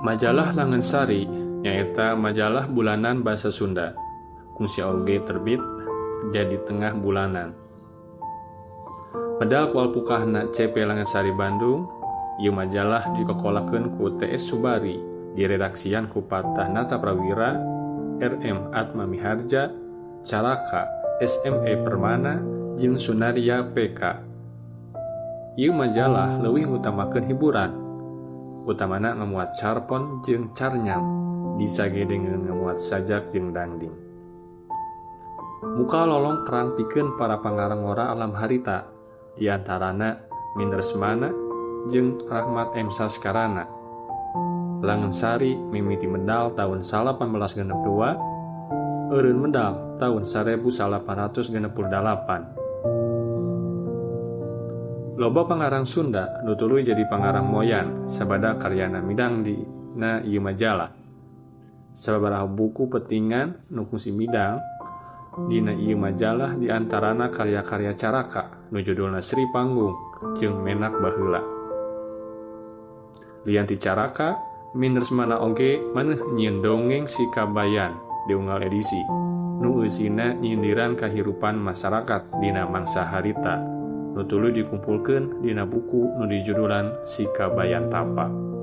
Majalah Langensari nyaeta majalah bulanan bahasa Sunda. Kungsi oge terbit jadi tengah bulanan. Medal kual pukahna CP Langensari Bandung, ieu majalah dikokolakeun ku TS Subari, diredaksian ku Patah Nata Prawira, RM Atma Miharja, Caraka SME Permana, jeung Sunaria PK. Ieu majalah leuwih ngutamakeun hiburan, utamana ngamuat carpon jeung carnyam, disage dengan ngamuat sajak jeung dangding. Muka lolong kerang pikeun para pangarang-ora alam harita, diantarana Mindresmana jeung Rahmat M. Saskarana. Langensari mimiti medal tahun 1862, eureun medal tahun 1868. Loba pangarang Sunda nu tuluy jadi pangarang moyan sabada karyana midang dina ieu majalah. Sababaraha buku petingan nu kungsi midang dina ieu majalah diantarana karya-karya Caraka nu judulna Sri Panggung jeung Menak Baheula. Lian ti Caraka, Mindresmana oge maneh nyieun dongeng Si Kabayan diunggal edisi nu eusina nyindiran kahirupan masyarakat dina mangsa harita nu tuluy dikumpulkeun dina buku nu dijudulan Si Kabayan Tapa.